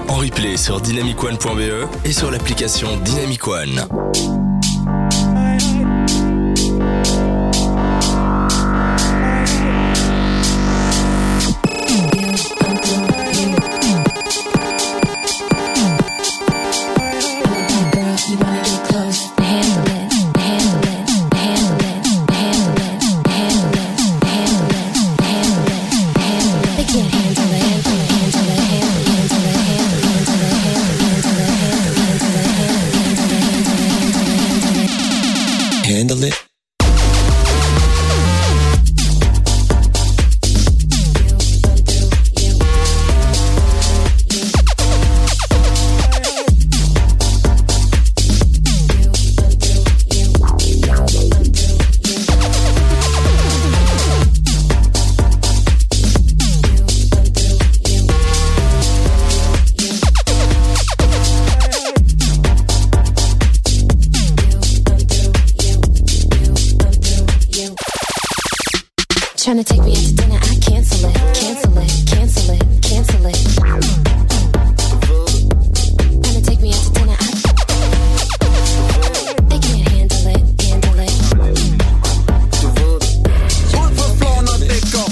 en replay sur dynamicone.be et sur l'application Dynamic One. Handle it. Trying to take me out to dinner, I cancel it, cancel it, cancel it, cancel it. Trying to take me out to dinner, they can't handle it, handle it. Ud på floor, når det går.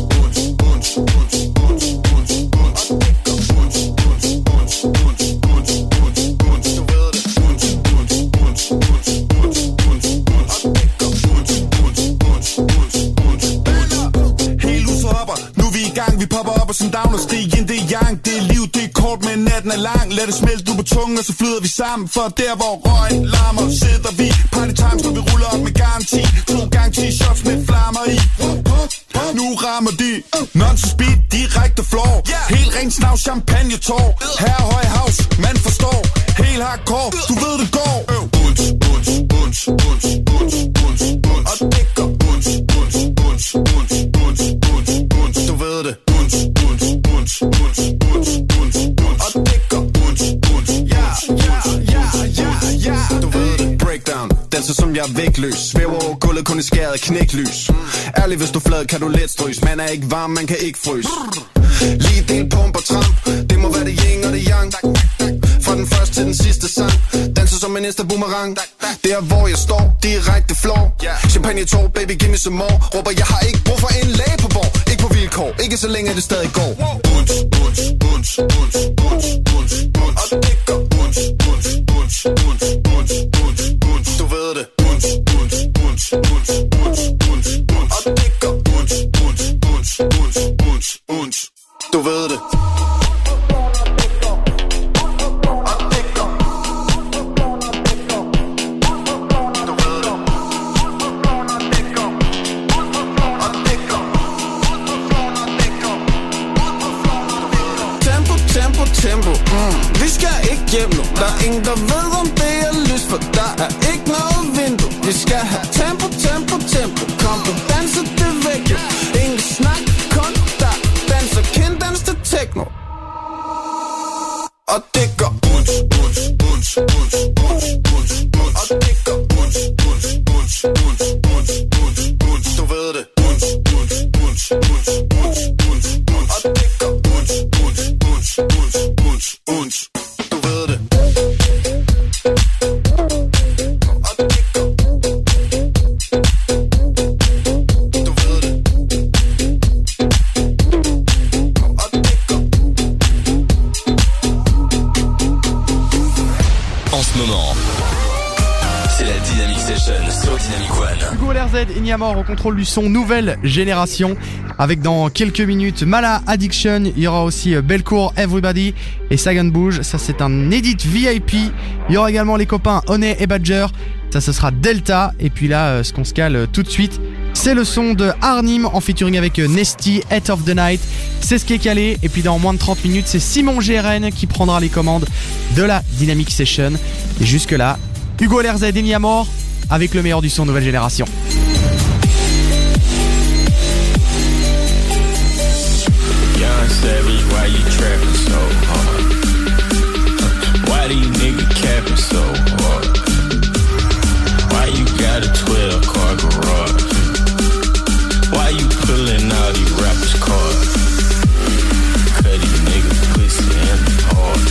Vi popper op og som down og stig ind, det er yang. Det er liv, det er kort, men natten er lang. Lad det smelte ud på tungen, og så flyder vi sammen. For der hvor røgen larmer, sidder vi. Party times, når vi ruller op med garanti. 2 gange 10 shots med flammer i. Nu rammer de non-stop speed, direkte floor. Helt ren snav, champagne tår. Her høj house, man forstår. Helt hardcore, du ved det går. Bunch, bunch, bunch, bunch, bunch, bunch, bunch. Og det går bunch, bunch, bunch, bunch, bunch, bunch, bunch. Du ved det. Bunch, bunch, bunch, bunch, bunch, bunch, bunch. Og det går bunch, bunch, ja, ja, ja, ja, ja. Du ved det. Breakdown, danser som jeg er vægtløs. Svæver over gulvet, kun i skæret knæklys. Ærlig, hvis du flad, kan du let strøs. Man er ikke varm, man kan ikke fryse. Lige del pump og tramp. Det må være det yin og det yang. Fra den første til den sidste sang. Danser som en næste boomerang. Det er hvor jeg står, direkte floor. Champagne tår, baby give me some more. Råber jeg har ikke brug for en læge på borg. Ikke på vilkår, ikke så længe det stadig går. Bunch, bunch, bunch, bunch, bunch, bunch, bunch. Og det går bunch, bunch, bunch, bunch, bunch, bunch, bunch. Du ved det. Bunch, bunch, bunch, bunch, bunch, bunch, bunch. Og det går bunch, bunch, bunch, bunch, bunch, bunch. Du ved det. Tempo, vi skal ikke hjem nu. Der er ingen, der ved om det er lys, for der er ikke noget vindue. Vi skal have tempo, tempo, tempo. Kom på danse det væk. Ingen snak, kun der danser kinddans til techno. Og det går bunch, bunch, bunch, bunch, bunch, bunch, bunch. Og det går bunch, bunch, bunch, bunch, bunch, bunch, bunch. Du ved det. Bunch, bunch, bunch, bunch, bunch, bunch, bunch. Og det går bunch, bunch, bunch, bunch, bunch, bunch. Du ved det. Og det går. Du ved det. Og det går. En ce moment, c'est la Dynamic Session sur Dynamic One. Hugo LRZ et Niamor au contrôle du son nouvelle génération. Avec dans quelques minutes Mala Addiction, il y aura aussi Belcourt Everybody et Sagan Bouge. Ça c'est un edit VIP. Il y aura également les copains Honey et Badger. Ça ce sera Delta. Et puis là ce qu'on se cale tout de suite, c'est le son de Arnim en featuring avec Nesty, Head of the Night. C'est ce qui est calé. Et puis dans moins de 30 minutes, c'est Simon GRN qui prendra les commandes de la Dynamic Session. Et jusque là, Hugo LRZ et Niamor avec le meilleur du son nouvelle génération. Savage, why you trapping so hard? Why these niggas capping so hard? Why you got a 12-car garage? Why you pulling all these rappers' cards? Cause these niggas pussy and hard.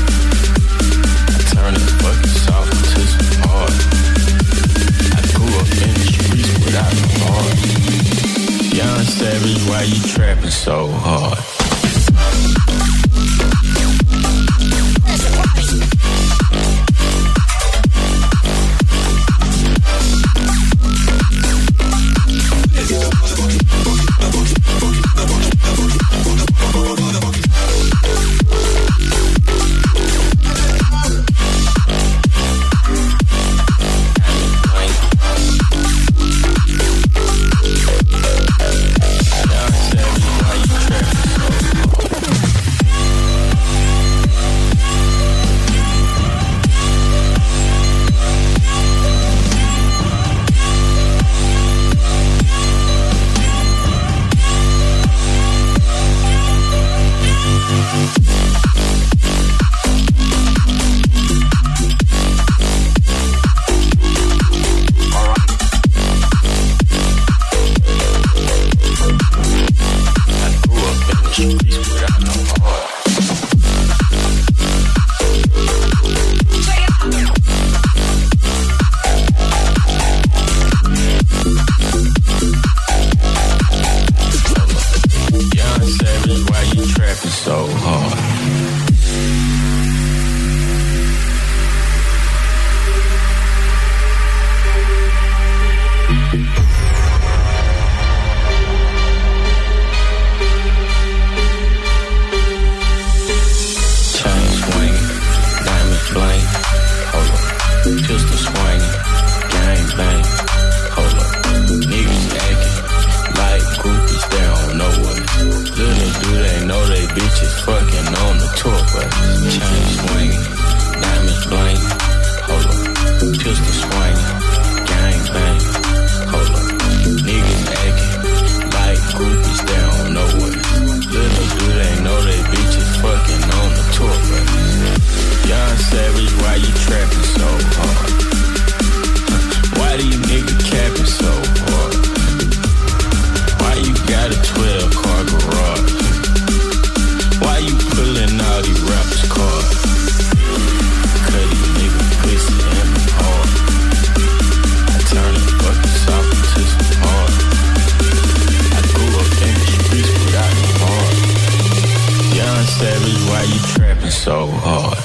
so hard.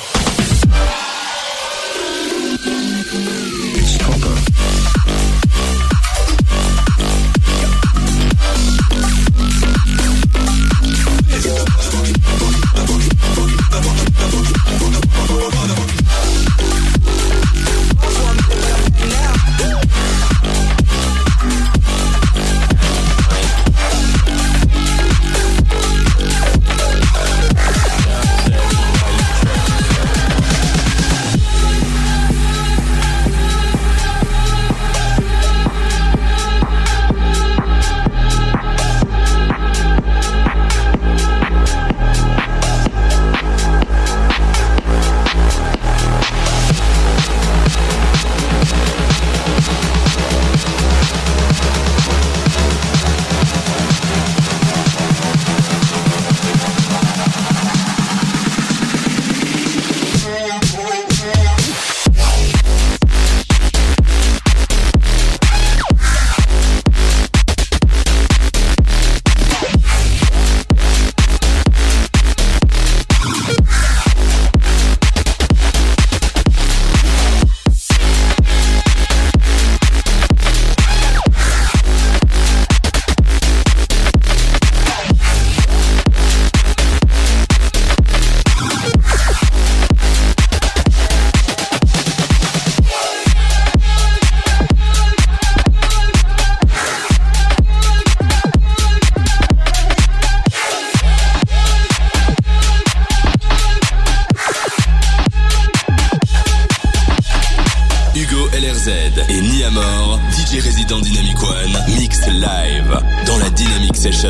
It's proper. Et Niamor, DJ résident Dynamic One, mix live dans la Dynamic Session.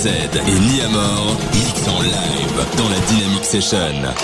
Z et Niamor mixent en live dans la Dynamic Session.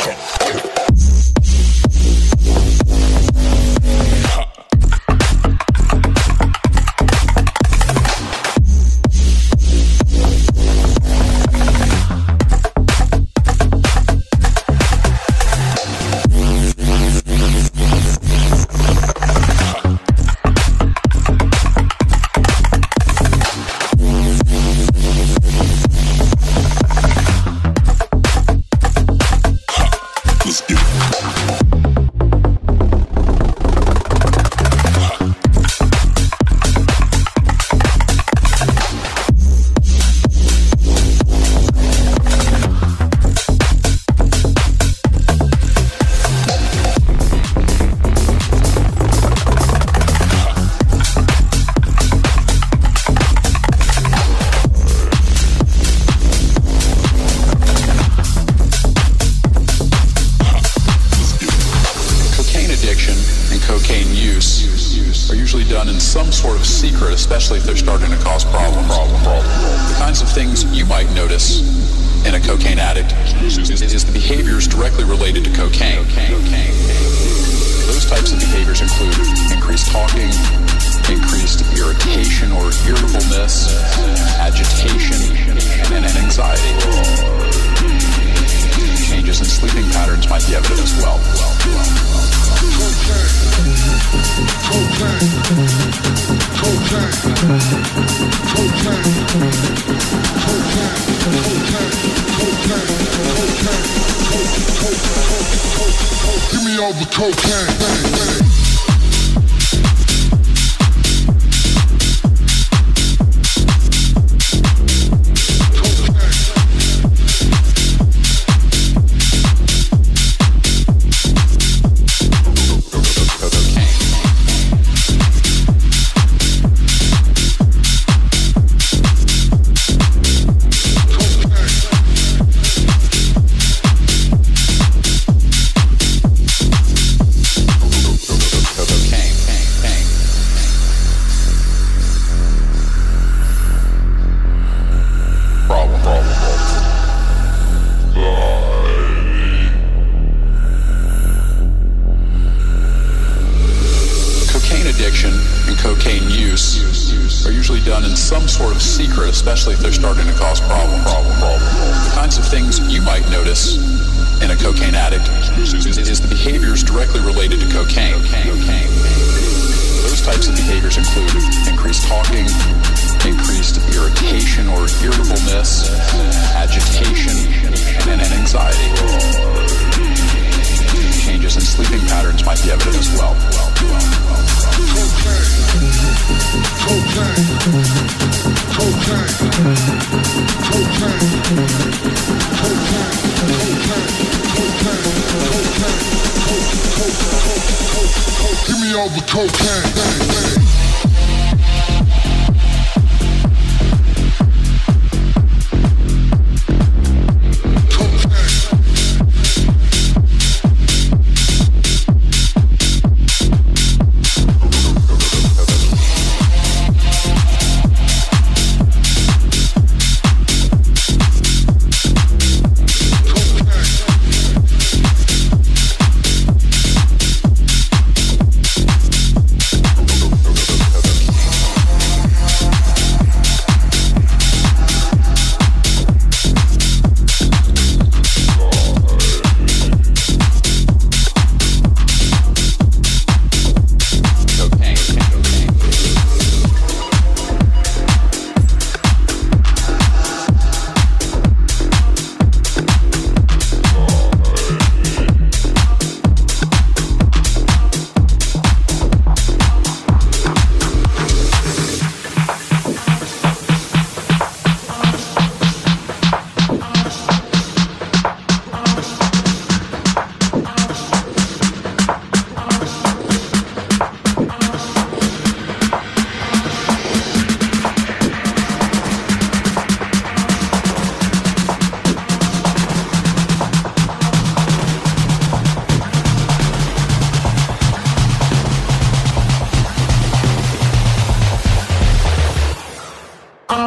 Especially if they're starting to cause problem. The kinds of things you might notice in a cocaine addict is the behaviors directly related to cocaine. Those types of behaviors include increased talking, increased irritation or irritableness, agitation, and anxiety. Changes in sleeping patterns might be evident as well. Give me all the cocaine. Especially if they're starting to cause problem. The kinds of things you might notice in a cocaine addict is the behaviors directly related to cocaine. Those types of behaviors include increased talking, increased irritation or irritableness, agitation, and anxiety. Changes in sleeping patterns might be evident as well. Give me all the cocaine.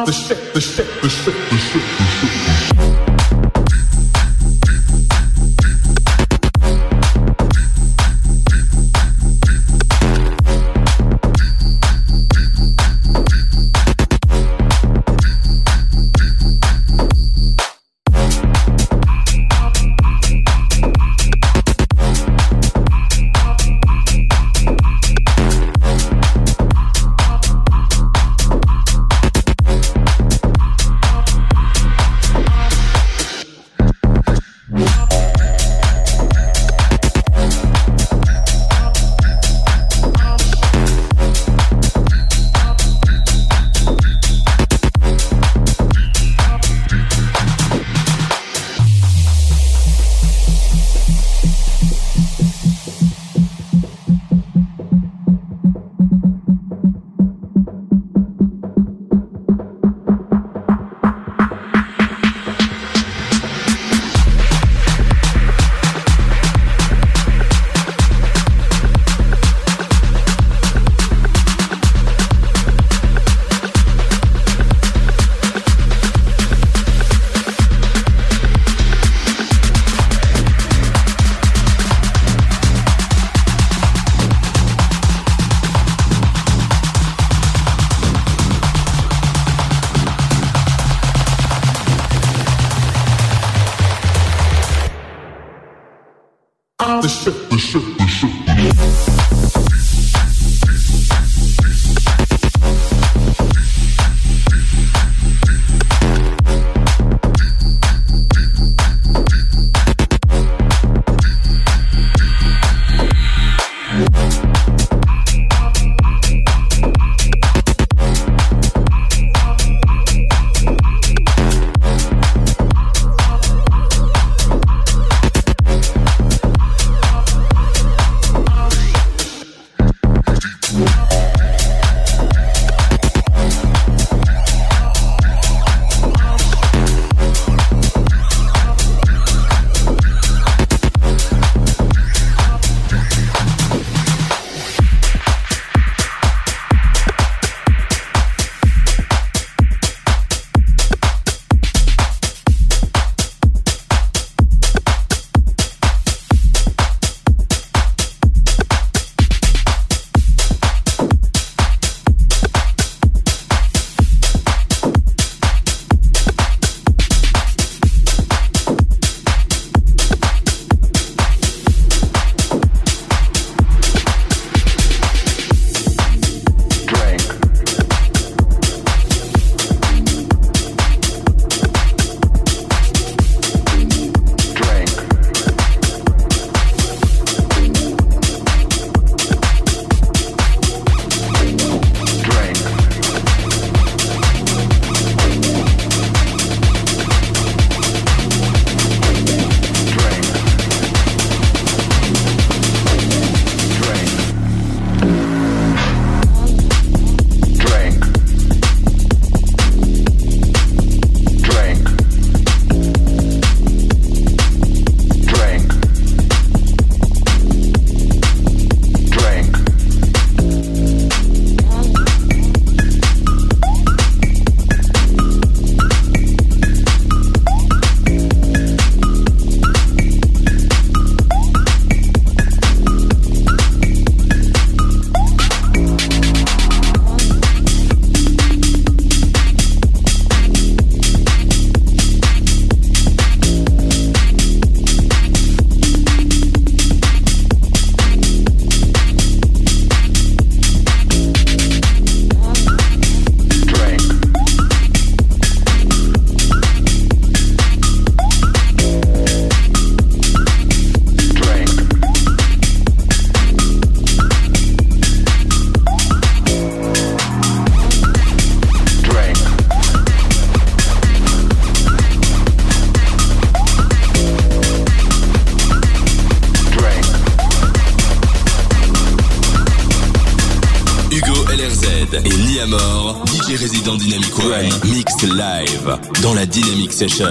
et Niamor, DJ résident Dynamic One, mix live dans la Dynamic Session.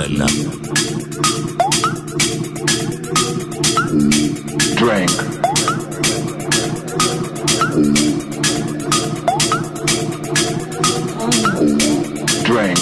Drink. Drink.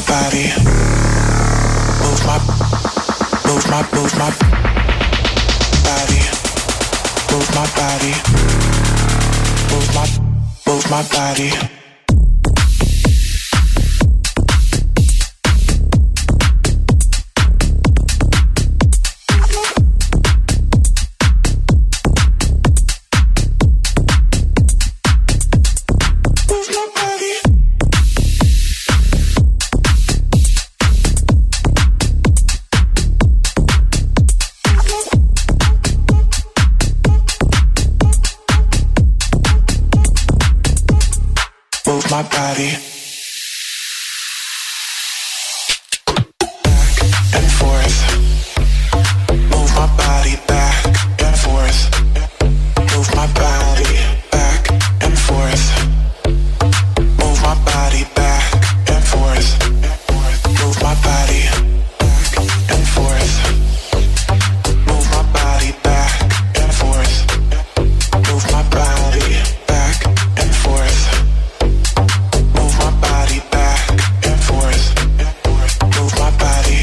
body. Move my body. Move my body. Move my body. My body back and forth. Move my body back and forth. Move my body back and forth. Move my body back and forth. Move my body back and forth. Move my body back and forth. Move my body back and forth. Move my body back and forth. Move my body.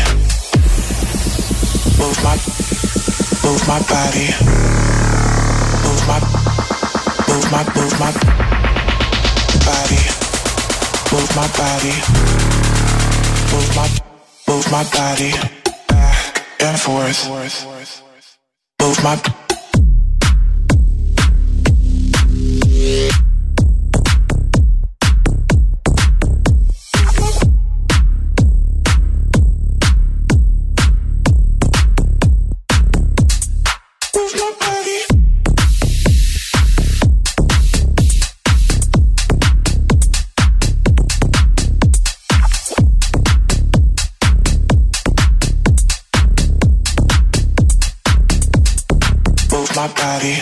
Move my body. Move my body. Move my body. Move my body back and forth. Move my my body.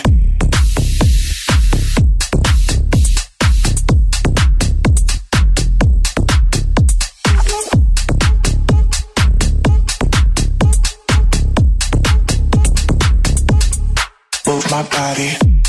Move my body.